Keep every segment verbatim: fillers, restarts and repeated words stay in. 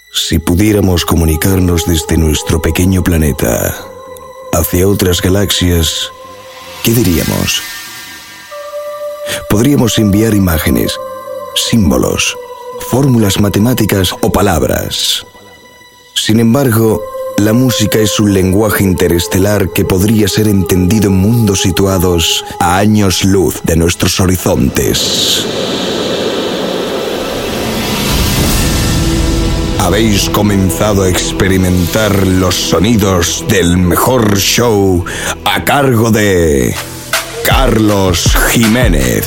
Si pudiéramos comunicarnos desde nuestro pequeño planeta hacia otras galaxias, ¿qué diríamos? Podríamos enviar imágenes, símbolos, fórmulas matemáticas o palabras. Sin embargo, la música es un lenguaje interestelar que podría ser entendido en mundos situados a años luz de nuestros horizontes. Habéis comenzado a experimentar los sonidos del mejor show a cargo de Carlos Jiménez.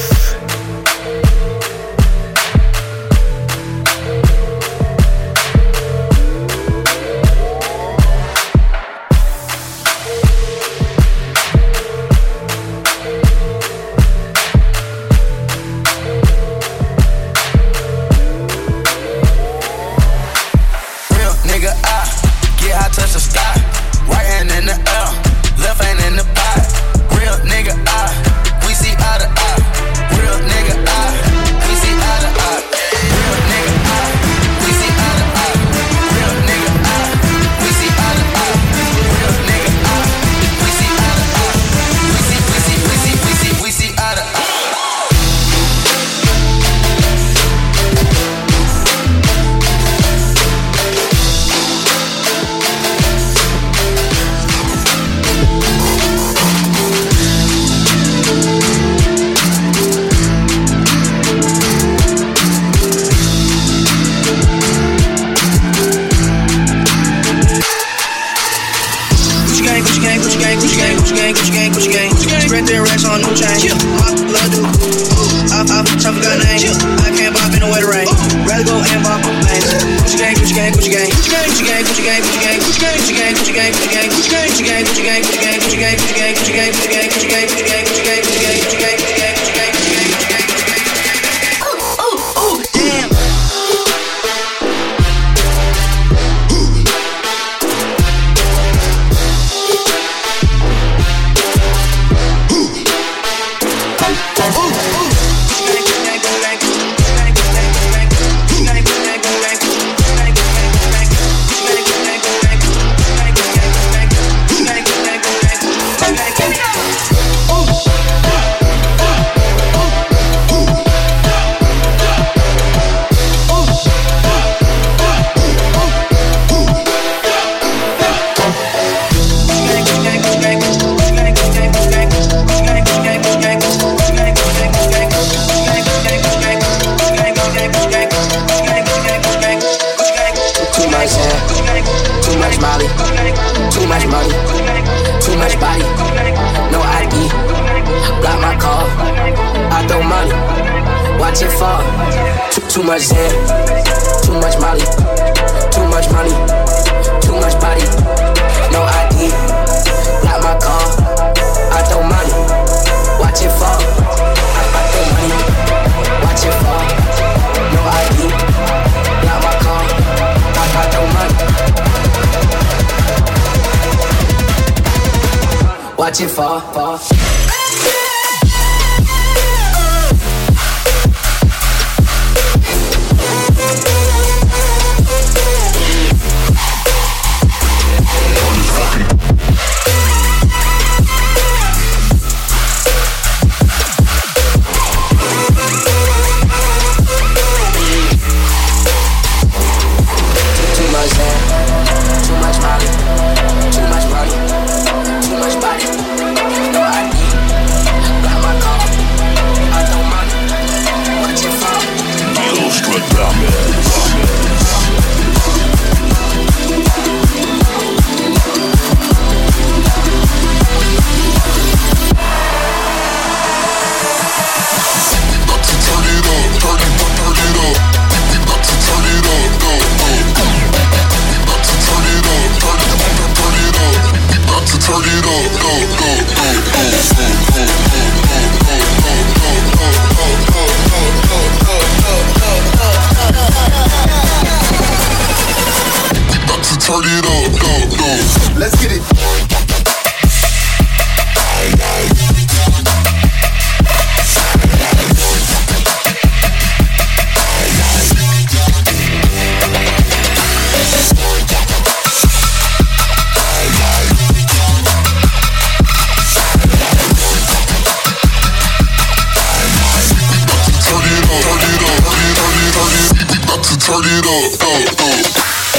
Watch it fall, fall. Too much Molly, too much money, too much body. No I D, turn it up, up, up.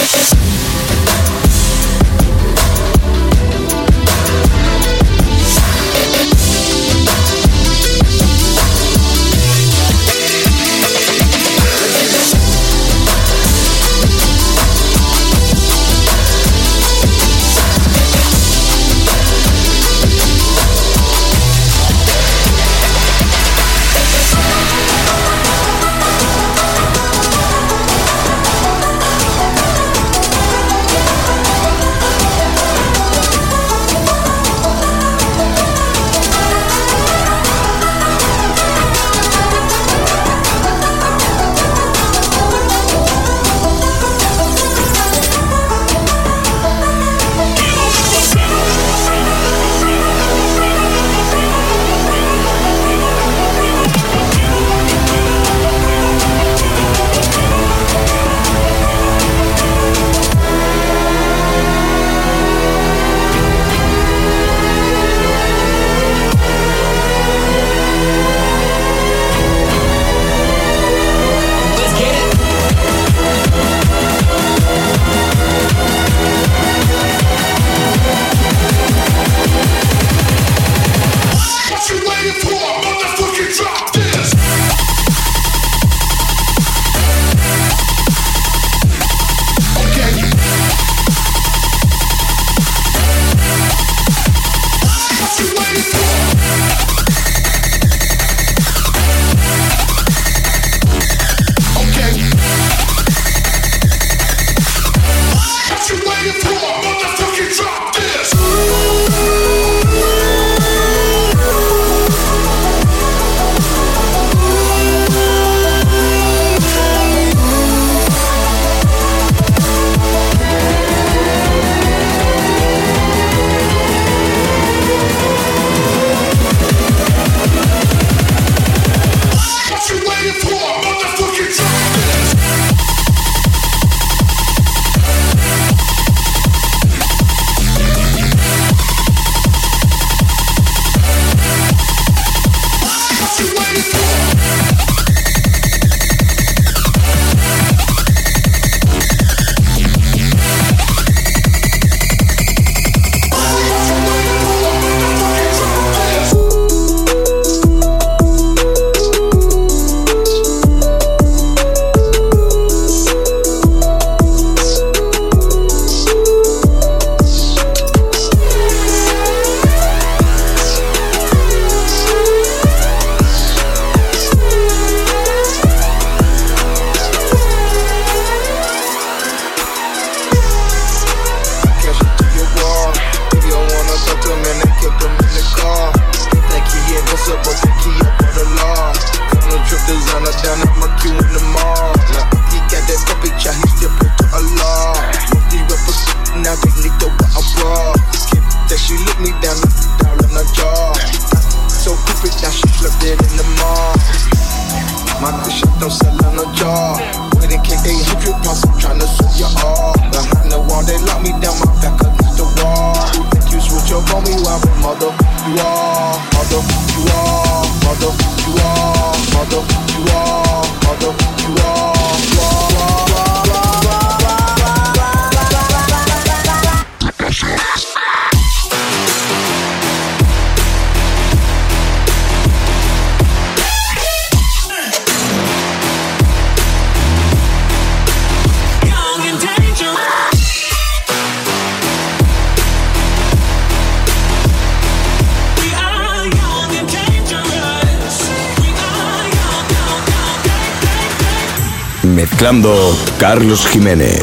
Mezclando Carlos Jiménez.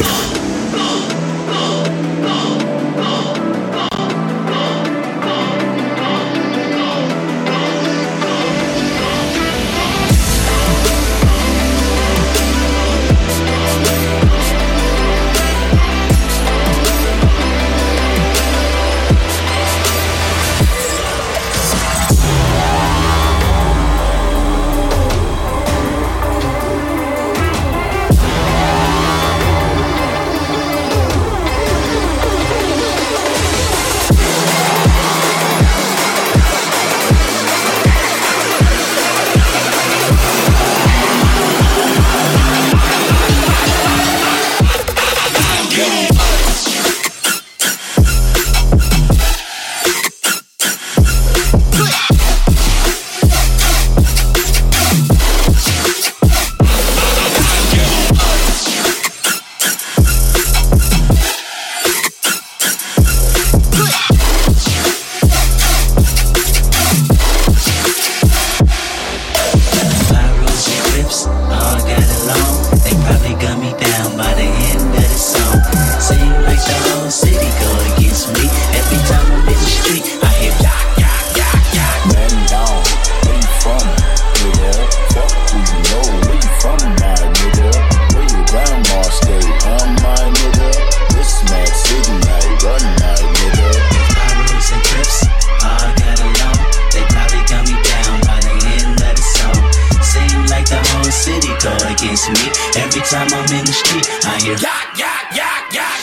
Every time I'm in the street, I hear yak, yak, yak, yak.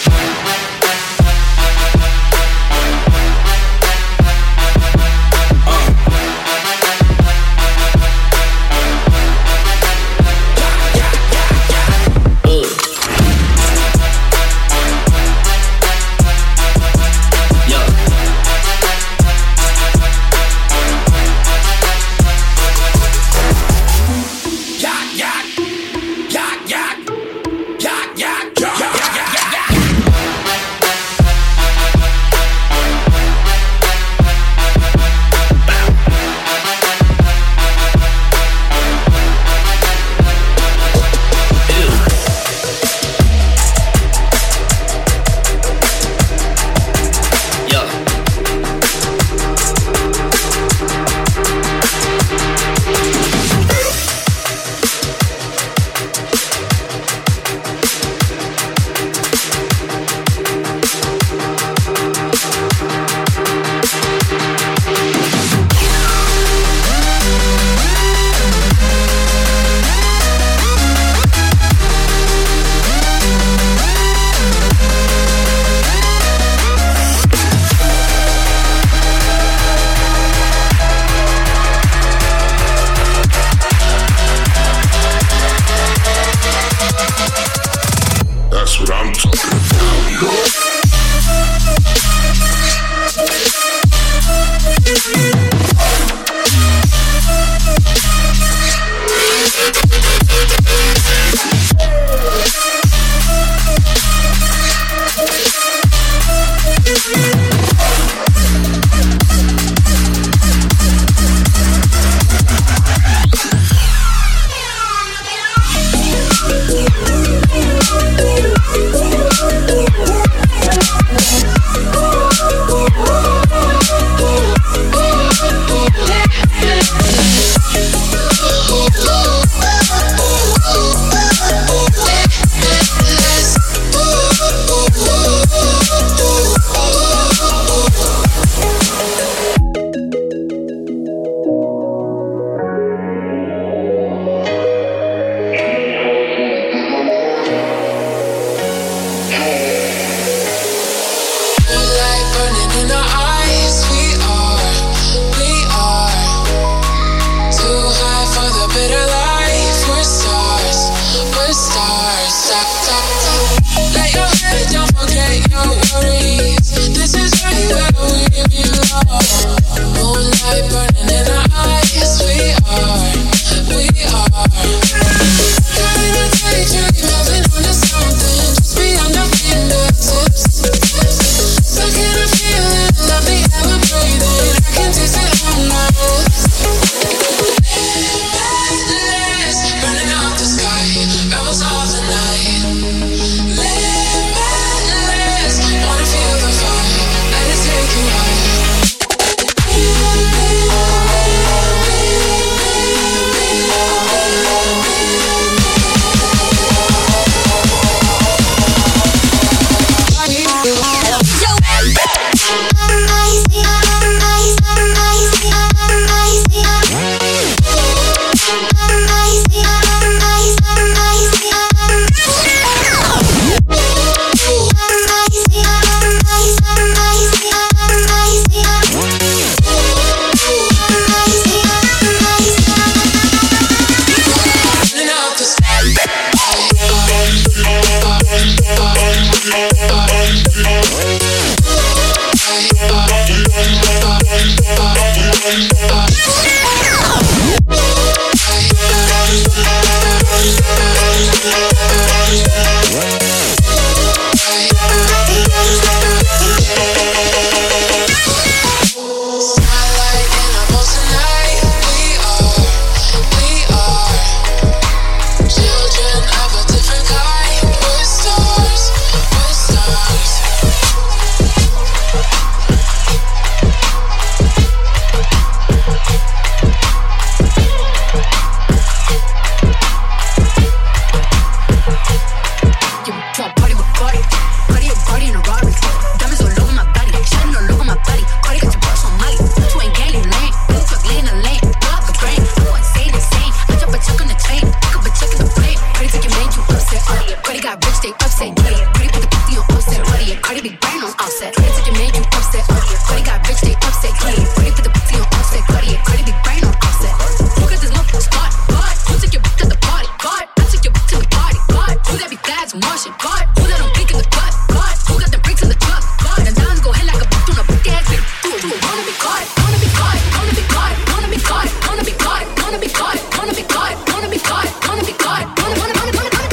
upset. Cardi got rich, they upset. Cardi put the pussy on offset. Cardi big brain on offset. Cardi took your man, you upset. Cardi got rich, they upset. Cardi put the pussy on offset. Cardi big brain on offset. Who got this love spot? God, who took your bitch to the party? God, I took your bitch to the party. God, who that be fast and Martian? God, who that don't pick in the cut? God, who got the bricks in the truck? God, and dimes go head like a boot on a brick ass bitch. Do it, do it, wanna be caught, wanna be caught, wanna be caught, wanna be caught, wanna be caught, wanna be caught, wanna be caught, wanna be caught, wanna be caught, wanna, wanna, wanna, wanna, wanna,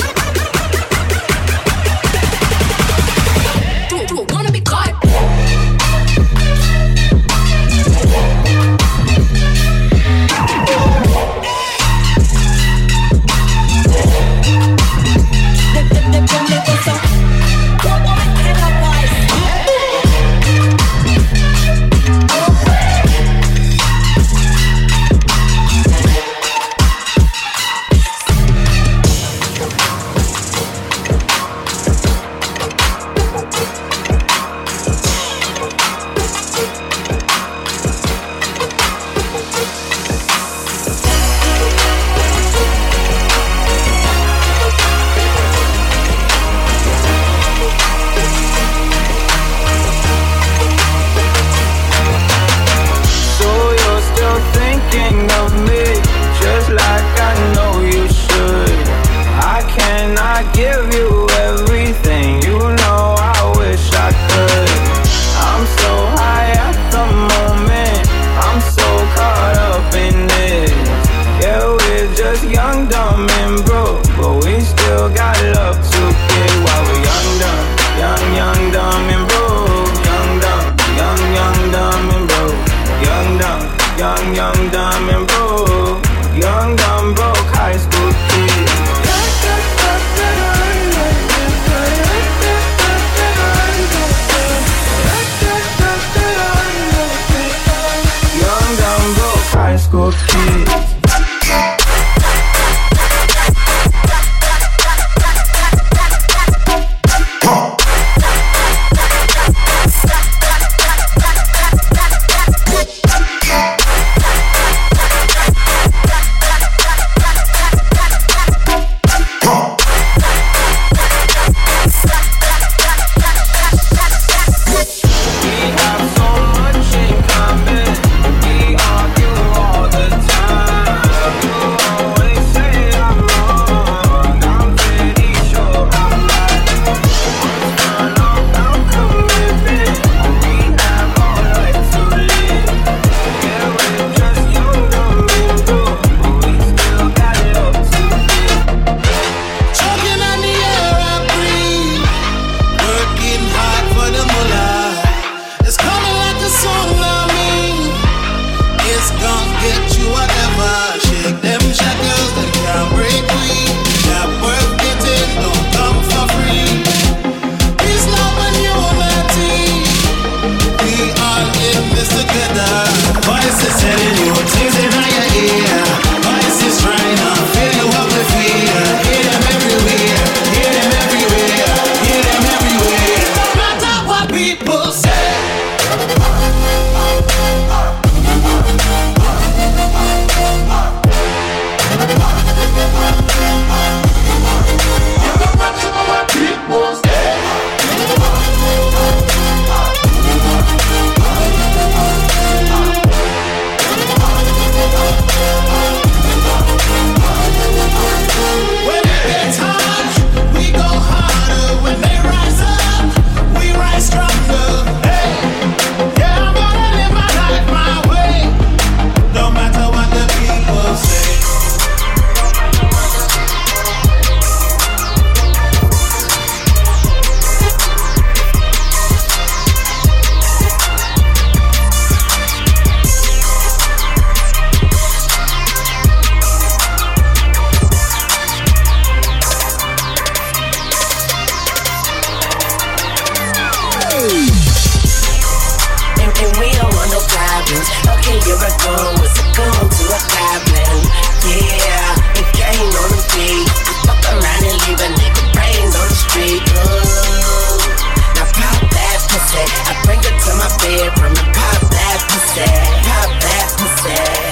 wanna, do it, do it, wanna be caught.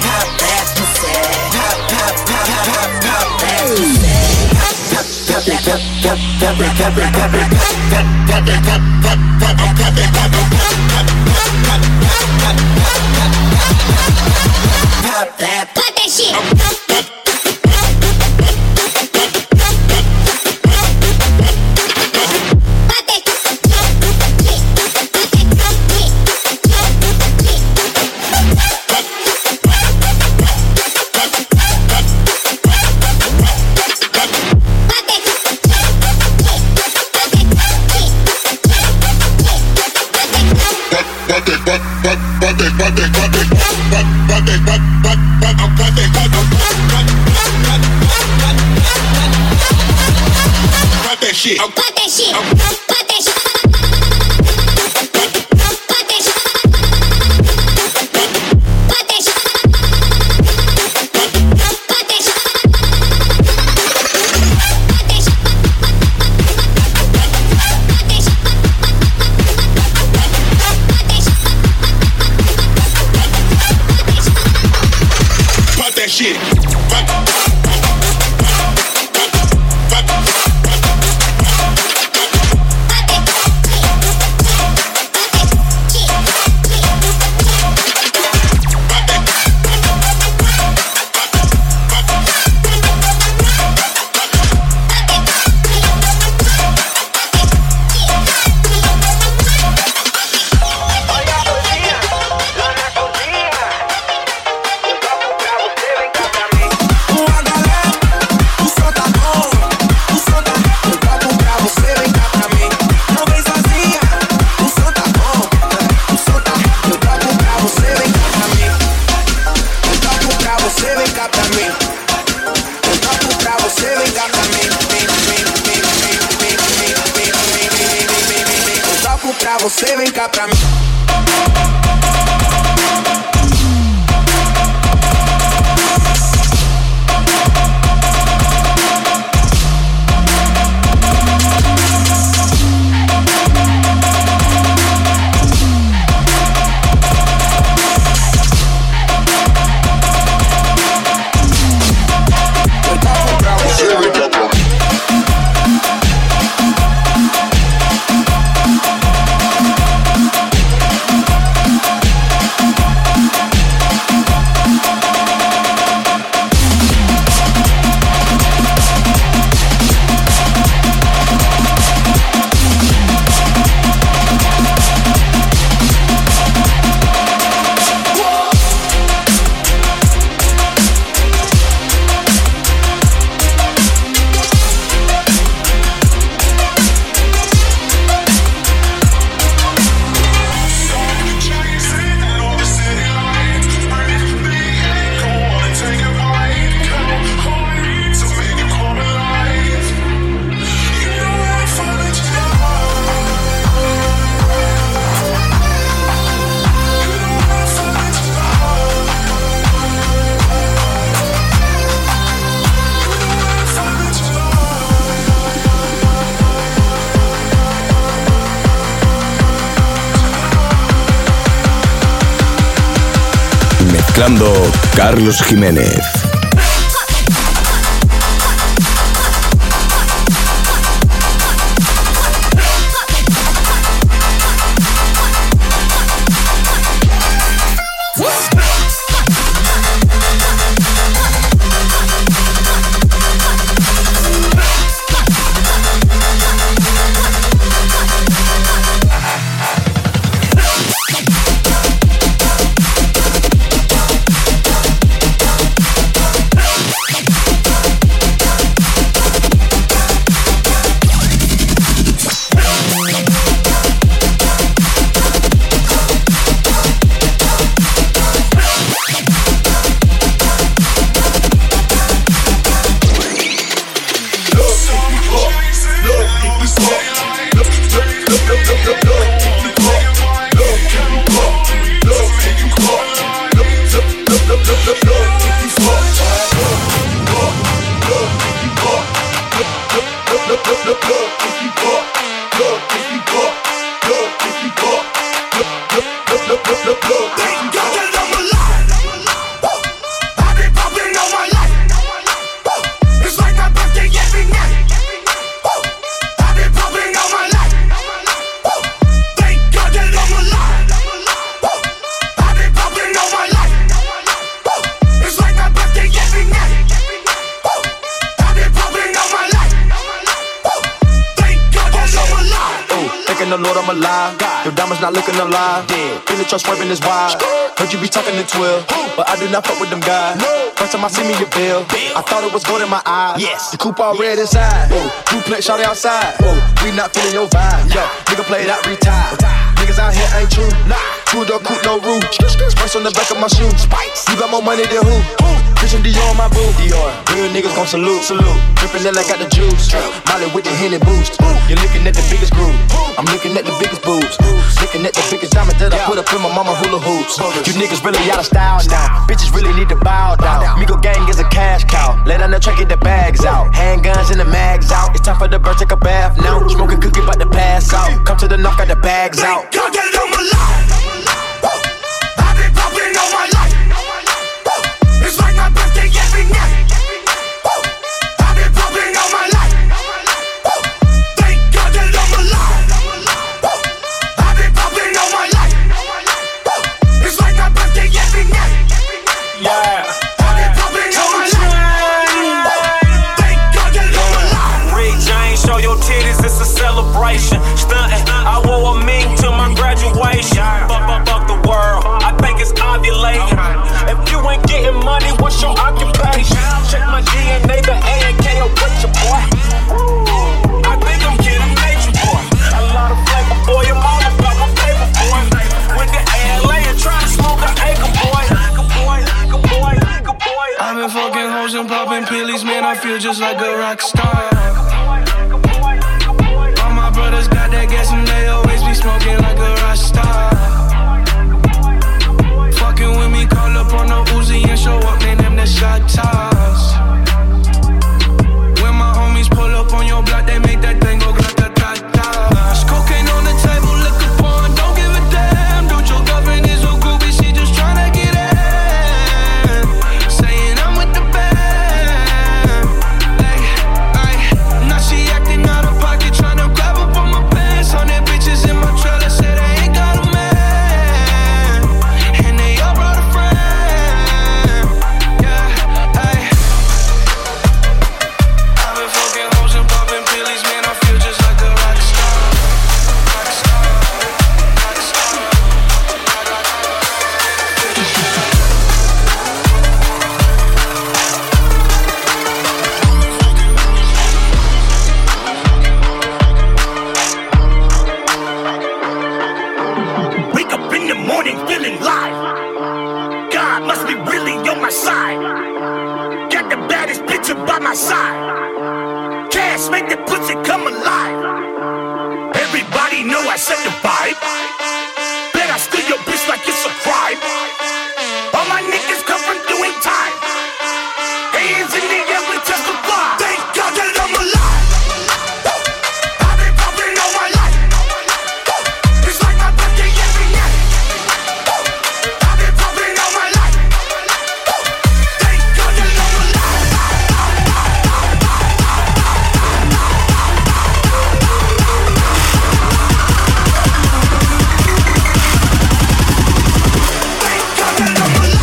That Shit. Cut that shit. Cut that shit. Shit. Você vem cá pra mim. Mezclando Carlos Jiménez. thanking the Lord I'm alive. Your diamonds not looking alive. Feel the trust swerving is wild. Heard you be talking to twelve, but I do not fuck with them guys. First time I see me, your bill. I thought it was gold in my eyes. Yes. The coupe all red inside. Ooh. Duplex shawty outside. Ooh. We not feeling your vibe. Yo, nigga play that retire. Niggas out here ain't true. Nah. Two door coupe, no roof. Spice on the back of my shoes. Spice. You got more money than who? Christian Dior on my boo. Dior. Real niggas gon' salute. Salute. Drippin' in like got the juice. Molly with the Henny boost. You're looking at the biggest groove. I'm looking at the biggest boobs. Looking at the biggest diamond that I put up in my mama hula hoops. You niggas really out of style now. Bitches really need to bow down. Migo gang is a cash cow. Let on the track, get the bags out. Handguns and the mags out. It's time for the bird, take a bath now. Smoking cookie, about to pass out. Come to the knock, got the bags out. God, that it on my life. I've been popping all my life. It's like my birthday every night. I've been popping all my life. Thank God that I'm alive. I've been popping all my life. It's like my birthday every night. Yeah. I've been popping all my life. Thank God that I'm alive. Rick James, show your titties, it's a celebration. Stuntin', I wore a mink to my graduation. Fuck, fuck, fuck the world, I think it's ovulating. If you ain't getting money, what's your occupation? Check my D N A, the A and K, or what your boy? I think I'm getting major, boy. A lot of flavor, boy, I'm all about my paper, boy. Went to A L A and tried to smoke an acre, boy. Acre boy, acre boy, acre boy. I've been fucking hoes and popping pillies, man, I feel just like a rock star. All my brothers got that gas and they always be smoking like a rock star. Fucking with me, call up on the Uzi and show up, man, them the shot toss. When my homies pull up on your block, they make that thing go grata-ta-ta. There's cocaine on the table, liquor porn, don't give a damn. Dude, your girlfriend is so groovy, she just tryna get in. Saying I'm with the band. Ay, ay, now she acting out of pocket, tryna grab up on my pants. Hundred bitches in my trailer, say they ain't got a man. And they all brought a friend. Yeah, ay. I've been fucking hoes and popping pillies, man, I feel just like a rock star. Rock star, rock star, Wake up in the morning feeling live. God must be really on my side. Got the baddest bitch up by my side. Cash make the pussy come alive. Everybody know I set the vibe. Bet I steal your bitch like it's a crime. All my niggas come from doing time. Hands in the air, we testify. Thank God that I'm alive. I've been popping all my life. It's like my birthday every night. I've been popping all my life. Thank God that I'm alive. Thank God that I'm alive.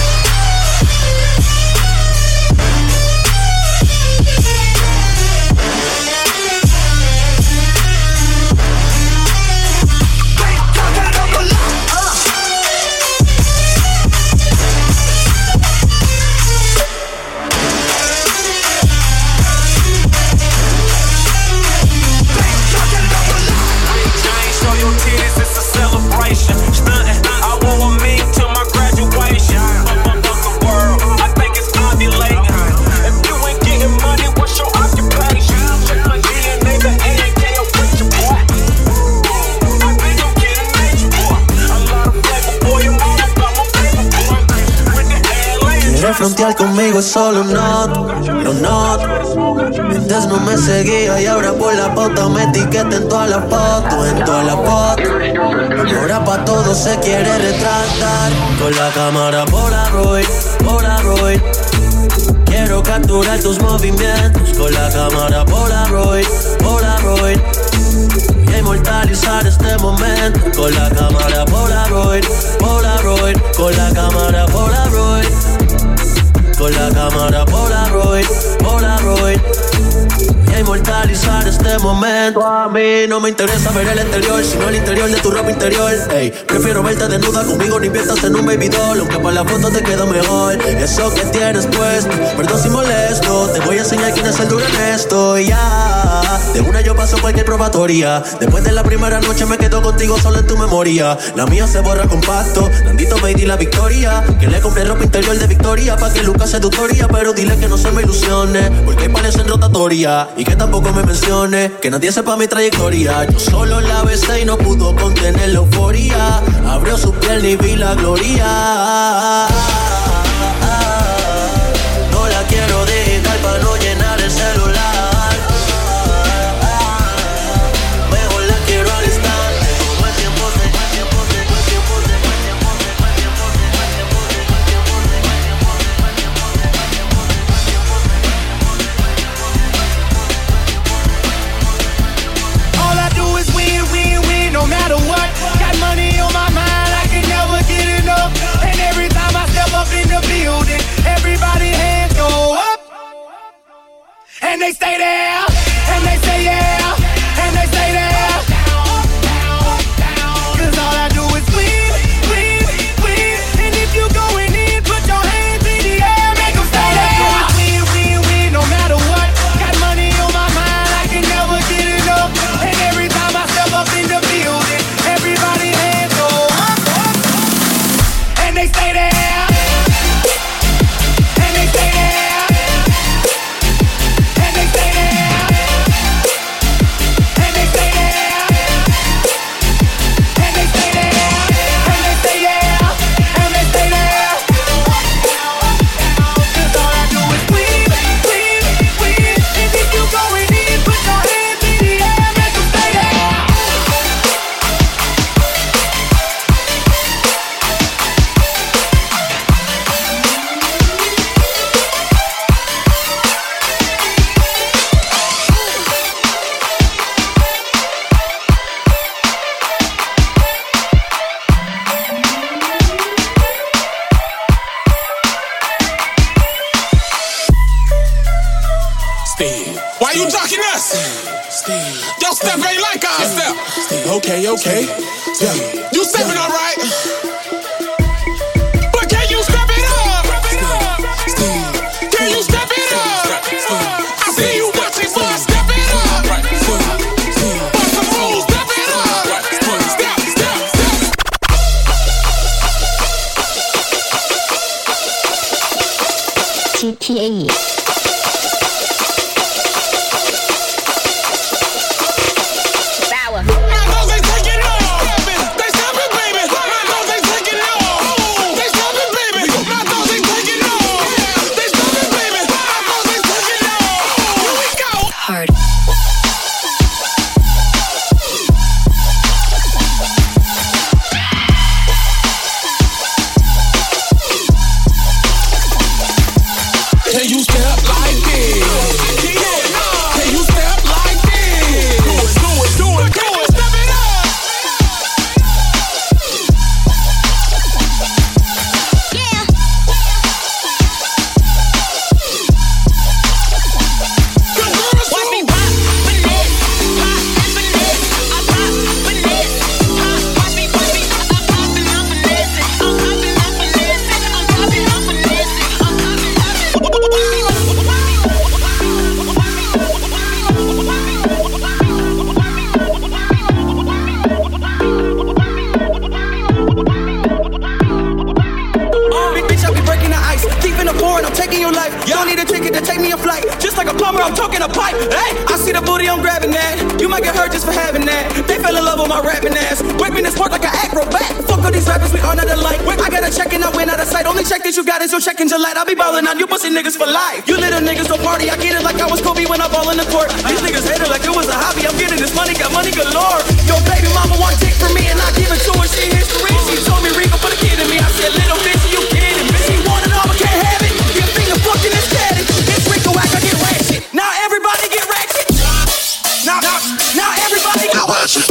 Thank God that I'm alive. Thank God that I'm alive. Rick James, show your titties, it's a celebration. Stuntin', I wore a mink to my graduation. Fuck, fuck, fuck the world, I think it's ovulating. If you ain't getting money, what's your occupation? Check my D N A, the A and K, or what your boy? I think I'm getting major, boy. A lot of flavor, boy, I'm all about my paper, boy. Went to A L A and Quieres tried to frontear conmigo es solo un not, lo not. Antes no me seguía y ahora por la pauta me etiqueta en todas las fotos, en todas las fotos. Ahora pa' todo se quiere retratar. Con la cámara Polaroid, Polaroid. Quiero capturar tus movimientos. Con la cámara Polaroid, Polaroid. Voy a inmortalizar este momento. Con la cámara Polaroid, Polaroid. Con la cámara Polaroid. Con la cámara Polaroid, Polaroid. Voy a inmortalizar este momento. A mí no me interesa ver el exterior, sino el interior de tu ropa interior. Ey, prefiero verte desnuda conmigo, ni inviertas en un baby doll, aunque para la foto te queda mejor eso que tienes puesto. Perdón si molesto, te voy a enseñar quién es el duro en esto. Y ya, de una yo paso cualquier probatoria. Después de la primera noche me quedo contigo solo en tu memoria. La mía se borra con pacto, Nandito me di la victoria. Que le compré ropa interior de Victoria pa' que Lucas seductoria. Pero dile que no se me ilusione, porque hay panes en rotatoria. Y que tampoco me mencione, que nadie sepa mi trayectoria. Yo solo la besé y no pudo contener la euforia. Abrió su piel y vi la gloria. No la quiero digital pa' no llenar el celular. Mejor la quiero al instante, como el tiempo se, el tiempo se, el tiempo se, el tiempo se, el tiempo se, el tiempo se, el tiempo se, el tiempo se, el tiempo se, el tiempo se, el tiempo se. All I do is win, win, win, no matter what. Got money on my mind, I can never get enough. And every time I step up in the building, everybody hands go up. And they stay there, and they say yeah, and they stay there. Cause all I do is win, win, win. And if you going in, put your hands in the air, make them stay there. Win, win, win, no matter what. Got money on my mind, I can never get enough. And every time I step up in the building, everybody hands go up, up. And they stay there. And they stay there. And they stay there. And they stay there. And they stay there. And they stay there. And they stay there. Cause all I do is win, win, win. And if you going in, put your hands in the air, make them stay there. Steve. Why you talking us? Steve. Your step ain't like our step. Steve. Okay, okay. Yeah. You stepping all right. But can you step it up? Steve. Can you step it up? I see you watching, so step it up. Bust some moves, step it up. Step, step, step. G T A. Can you step like this? Can you step like this? Do it, do it, do it, do it. Step it up. Yeah. Good girls, Watch me rock, finesse, pop and finesse. I pop, finesse, pop. Watch me, watch me. I'm popping, I'm finessing. I'm popping, I'm finessing. I'm popping, I'm finessing. I'm popping, Bitch, I be breaking the ice, keeping the pouring, I'm taking your life. You don't need a ticket to take me a flight. Just like a plumber, I'm talking a pipe. Hey, I see the booty, I'm grabbing that. You might get hurt just for having that. They fell in love with my rapping ass. Whipping this sport like an acrobat. Fuck all these rappers, we are not alike. I got a check and I went out of sight. Only check that you got is your check in July. I be ballin' on you pussy niggas for life. You little niggas don't party, I get it like I was Kobe when I ball in the court. These niggas hate it like it was a hobby. I'm getting this money, got money galore. Yo, baby mama one tick for me and I give it to her. She history. She told me Rico put a kid in me. I said, little bitch, you kidding me? She want it all but can't have it. Your finger fucking is caddy. It's Rico act, I get ratchet. Now everybody get ratchet. Now, now, now everybody get ratchet.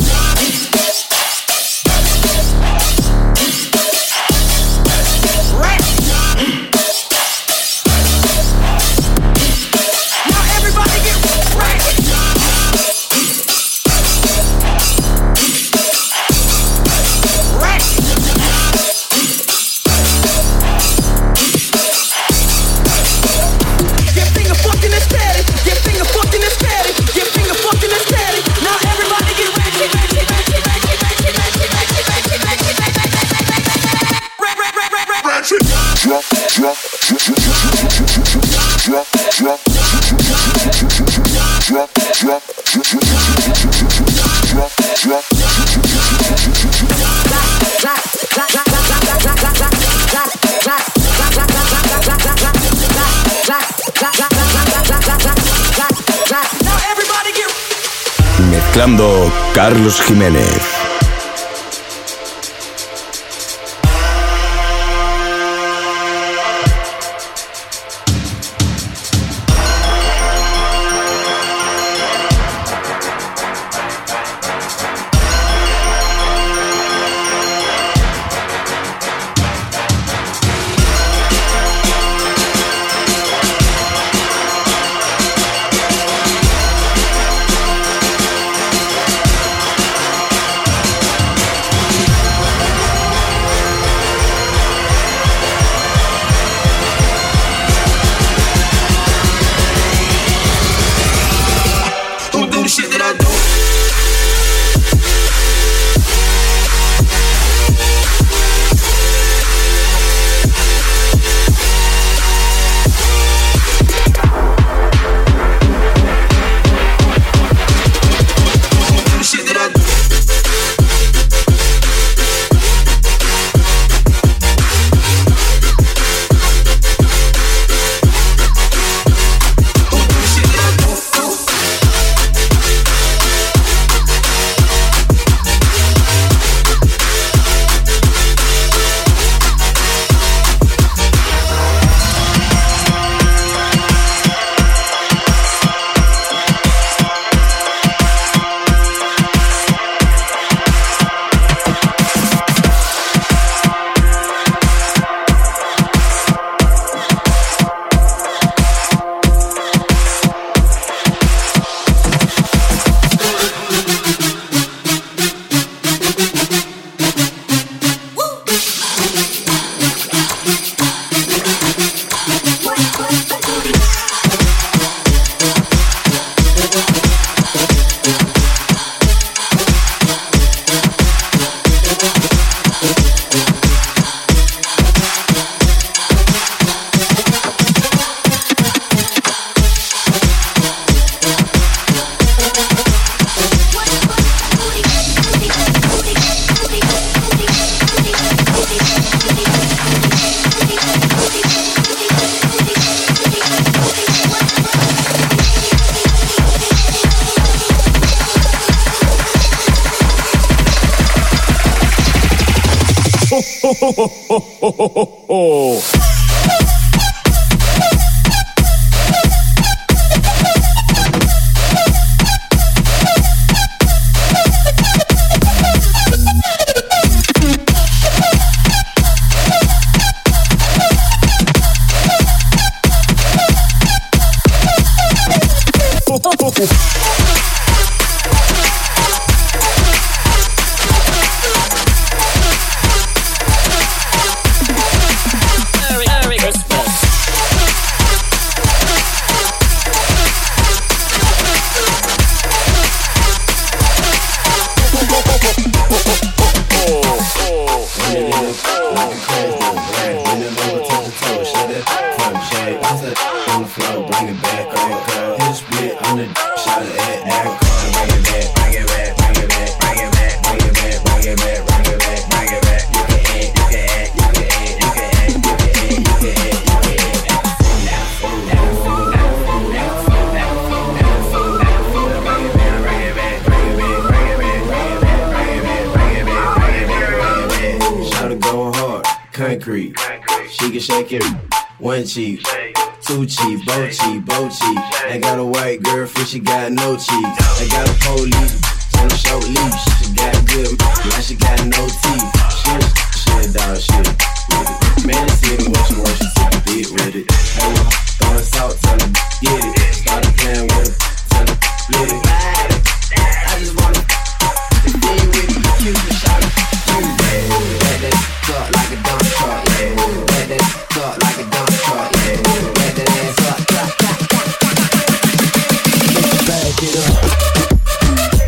Now everybody get ratchet. Mezclando Carlos Jiménez. Concrete, she can shake it. One cheek, two cheek, both cheek, both cheek. I got a white girlfriend, she got no cheeks. I got a police on a short leash. She got good, now she got no teeth. Shit, shit, dog, shit with it. Man, it's even what she wants, she took a beat with it. Hey, well, throwing salt, tell her, get it. Started playing with her, tell her, let it. I just wanna be with you, cute and shot it. Let that talk like a dump truck, yeah. Let that talk like a dump truck, yeah. Let that ass up, clap, clap, clap, clap. Back it up.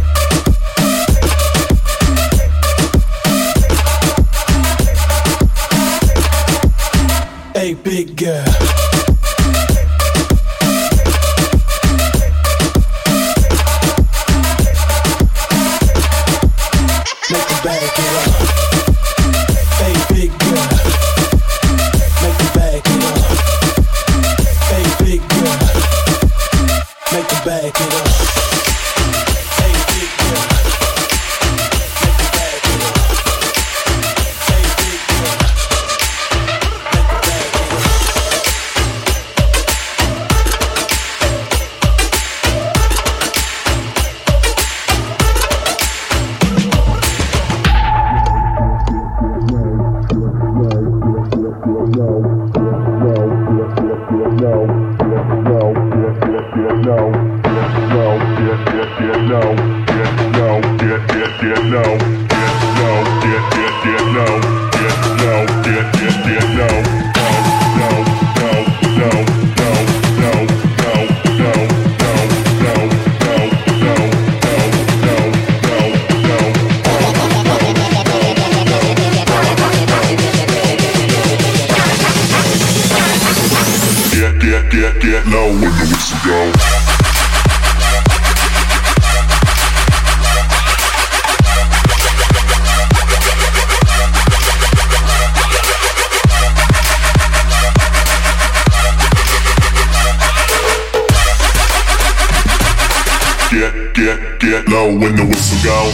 know when the whistle go.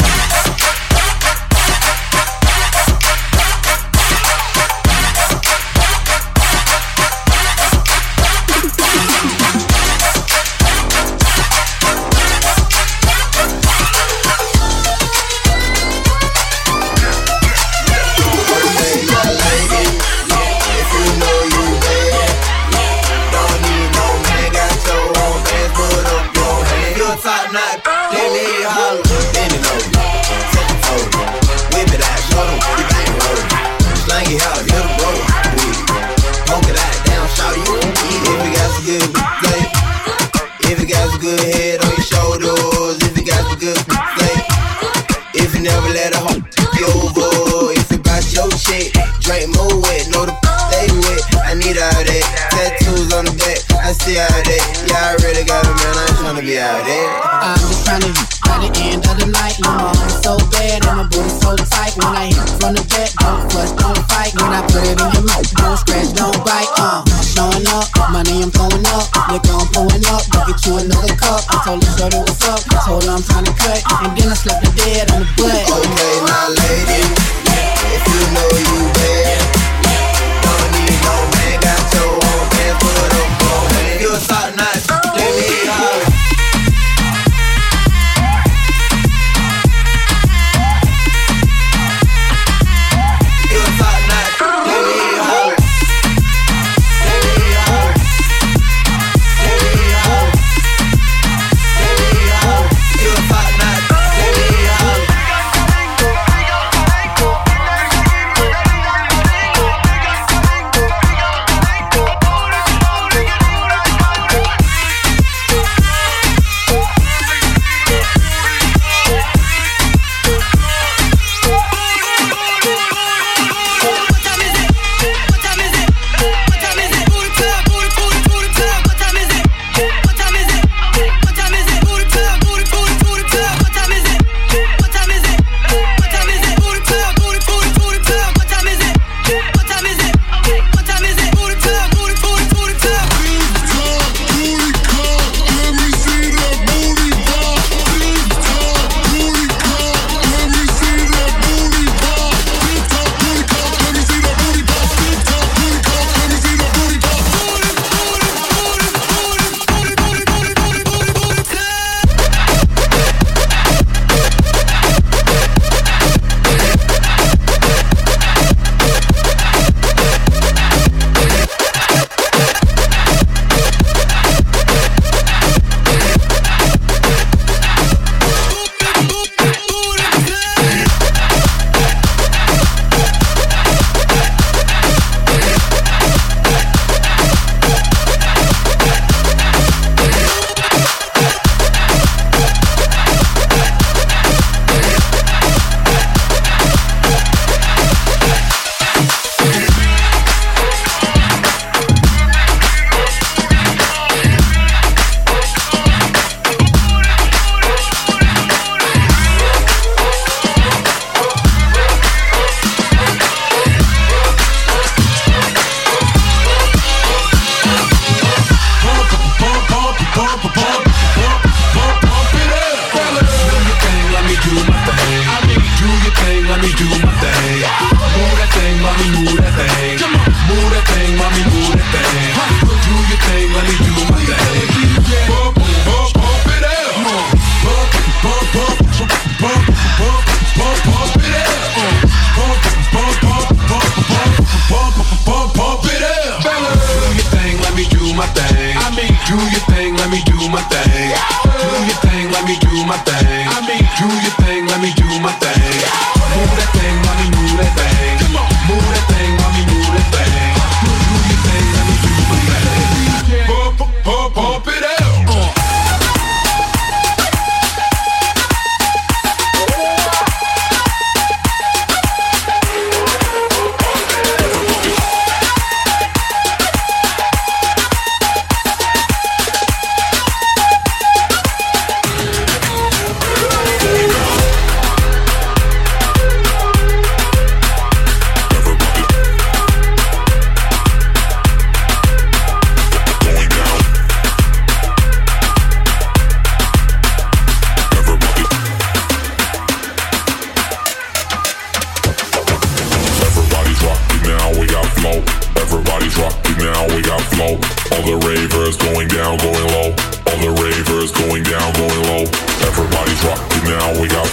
I'm just trying to hit by the end of the night. You know I'm so bad and my booty so tight. When I hit from the back, don't fuss, don't fight. When I put it in your mouth, don't scratch, don't bite. Uh, I'm showing up, money I'm throwing up. Liquor I'm pulling up, go get you another cup. I told her shorty what's up, I told her I'm trying to cut, and then I slapped her dead on the butt. Okay, now lady, if you know you bad, don't need no man, got your own pants, put up on hand. You a top notch, let me holler.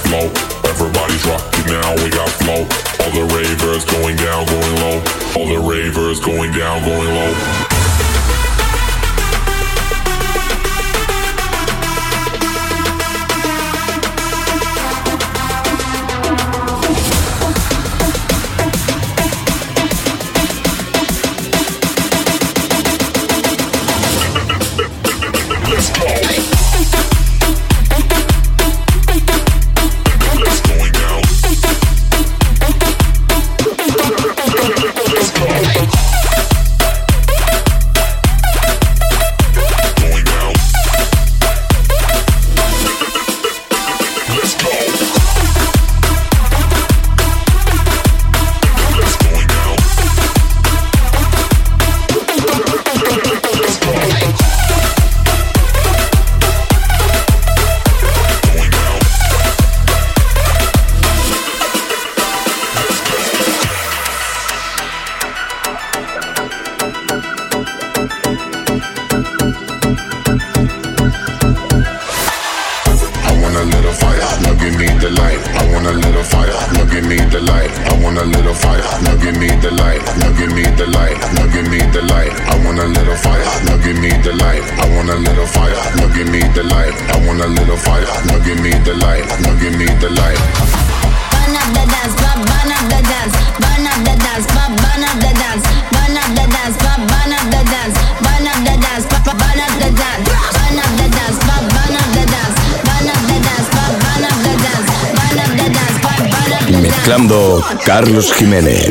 flow. Everybody's rocking now, we got flow. All the ravers going down, going low. All the ravers going down, going low. Mezclando Carlos Jiménez.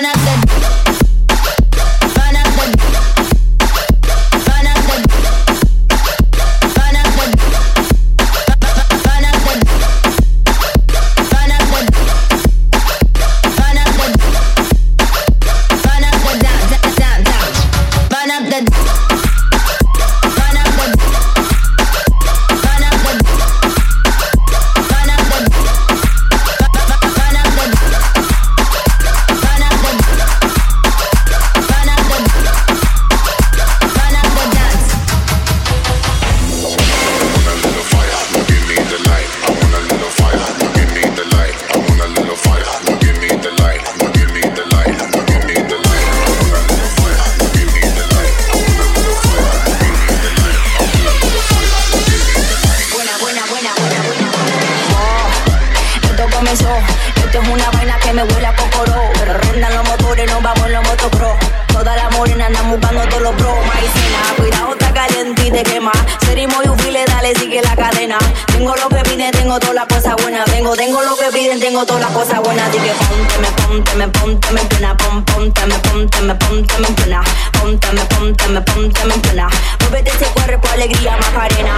Tengo todas las cosas buenas, así que pónteme, pónteme, pónteme en plena, pom, pónteme, pónteme, pónteme en plena, pónteme, pónteme, pónteme en plena. Muévete ese cuerpo, alegría, Macarena.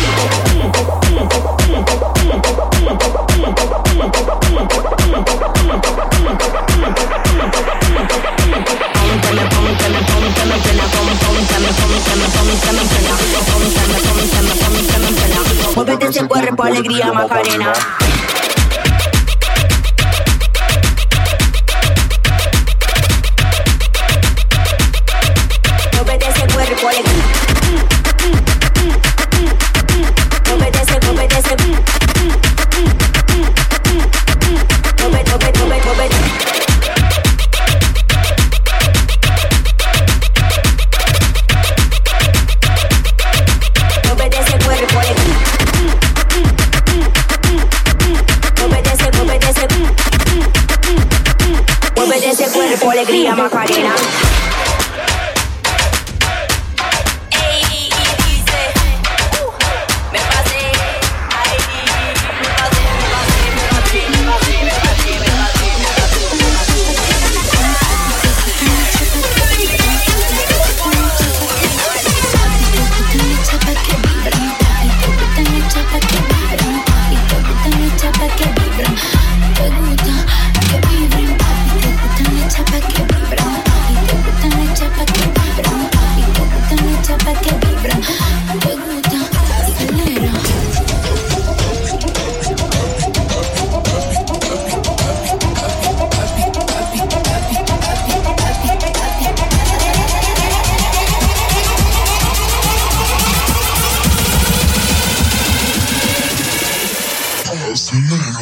Pónteme, pónteme, pónteme en plena, pom, pónteme, pónteme, pónteme en plena, pónteme, pónteme, pónteme en plena. Muévete ese cuerpo, alegría, Macarena. Alegría, Macarena. Ey, dice, uh, me pasé, ay, me pasé, me pasé, me pasé, me pasé, me pasé, me Te gusta que vibren, te gustan las chapas que vibran, y te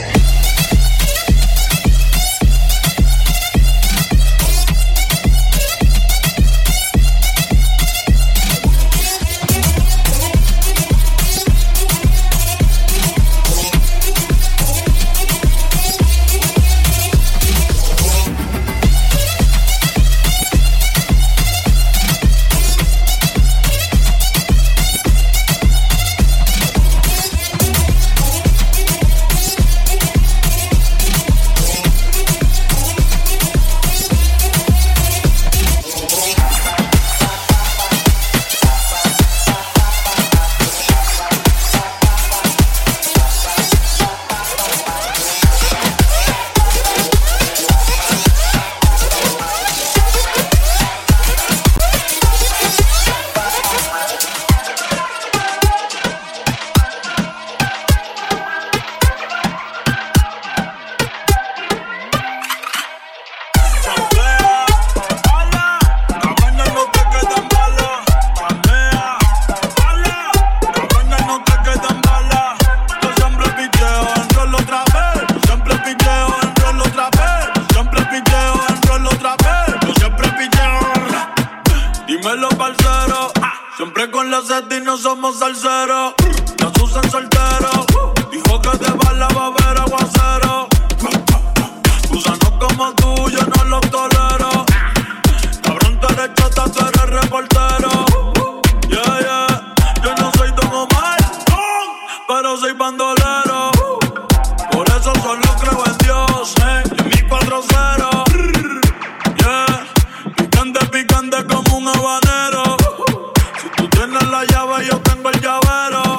Siempre con la sed y no somos salseros. Nos usan solteros. Dijo que de bala va a haber aguacero. Gusanos como tú, yo no los tolero. Cabrón, tú eres chota, tú eres reportero. Yeah, yeah. Yo no soy Don Omar, pero soy bandolero. Por eso solo creo en Dios, eh. Y en mi cuatro cero. Yeah. Picante, picante como un habanero. Si tú tienes la llave, yo tengo el llavero.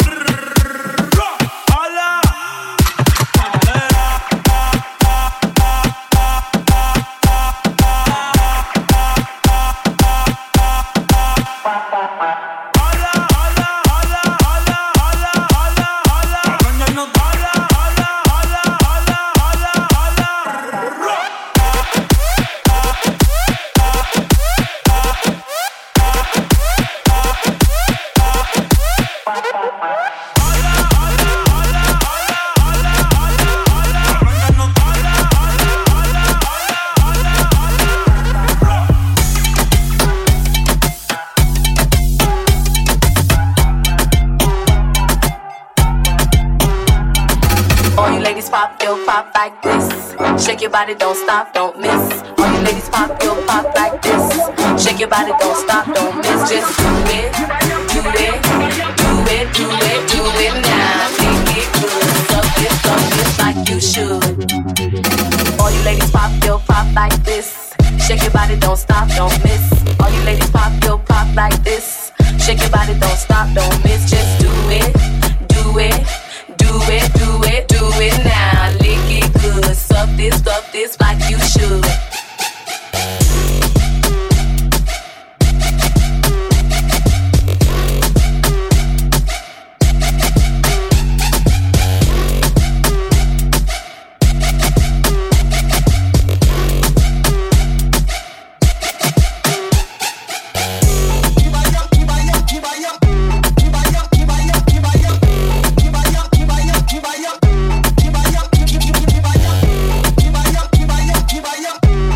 ¡Hala! All you ladies pop, yo, pop like this. Shake your body, don't stop, don't miss. All you ladies pop, yo, pop like this. Shake your body, don't stop, don't miss. Just do it, do it, do it, do it, do it now. Make it good, suck it, suck it like you should. All you ladies pop, yo, pop like this. Shake your body, don't stop, don't miss. All you ladies pop, yo, pop like this. Shake your body, don't stop, don't miss. Just do it, do it. Do it, do it, do it now. Lick it good. Suck this, suck this like you should. Vaya,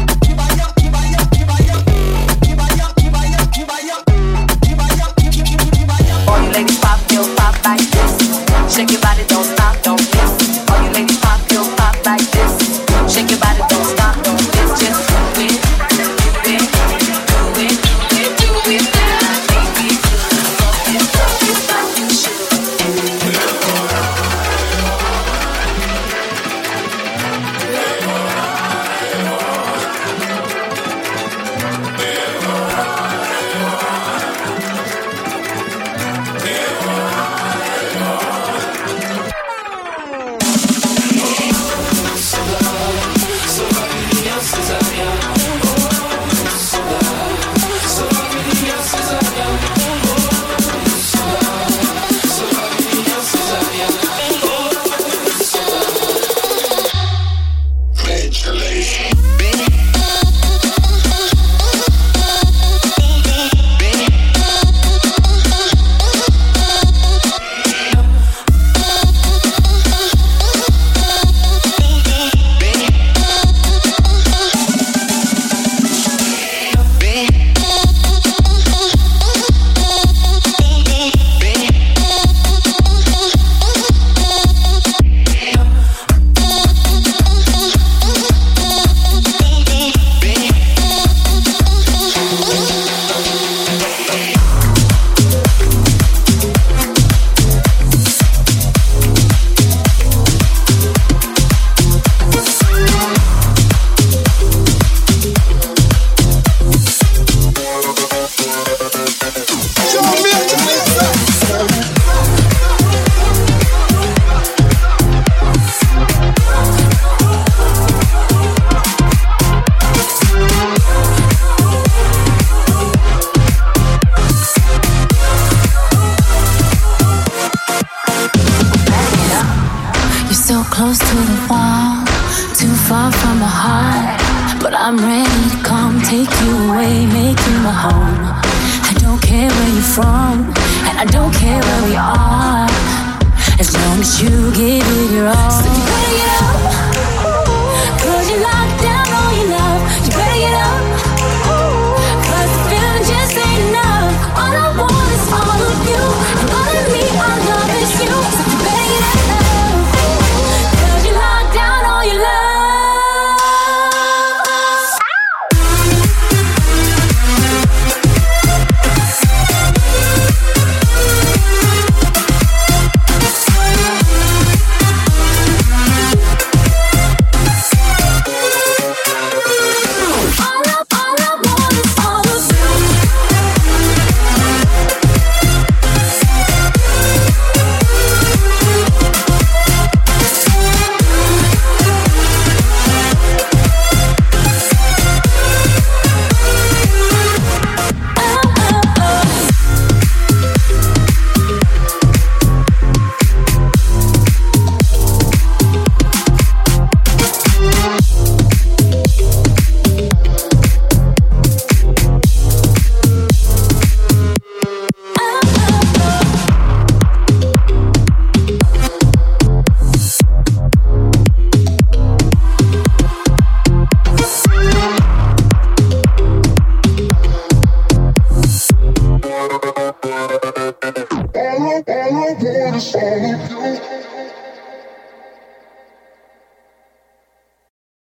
fall too far from my heart, but I'm ready to come take you away, make you my home. I don't care where you're from, and I don't care where we are, as long as you give it your all. So you better get up, cause you locked down all your love. You better get up, cause the feeling just ain't enough. All I want is all of you, and all of me I love is you. So you better get up, cause you locked down all your love. All I, all I want is all of you.